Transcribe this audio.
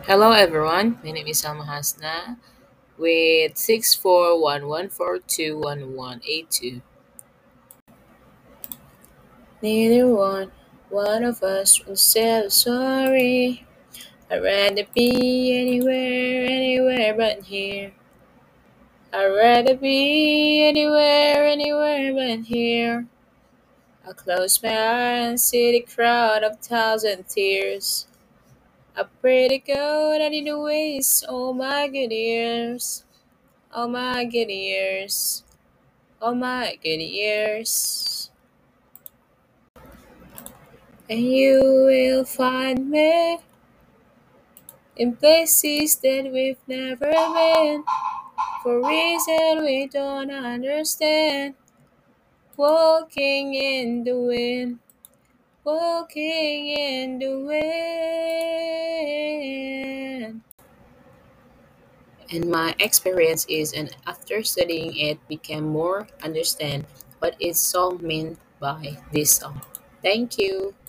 Hello everyone, my name is Salma Hasna with 6411421182. Neither one of us will say sorry. I'd rather be anywhere but here. I'd rather be anywhere but here. I close my eyes and see the crowd of thousand tears. I pray to God I didn't waste all my good years. All my good years. All my good years. And you will find me in places that we've never been for reasons we don't understand. Walking in the wind, walking in the wind. And my experience is, and after studying it, became more understand what is song meant by this song. Thank you.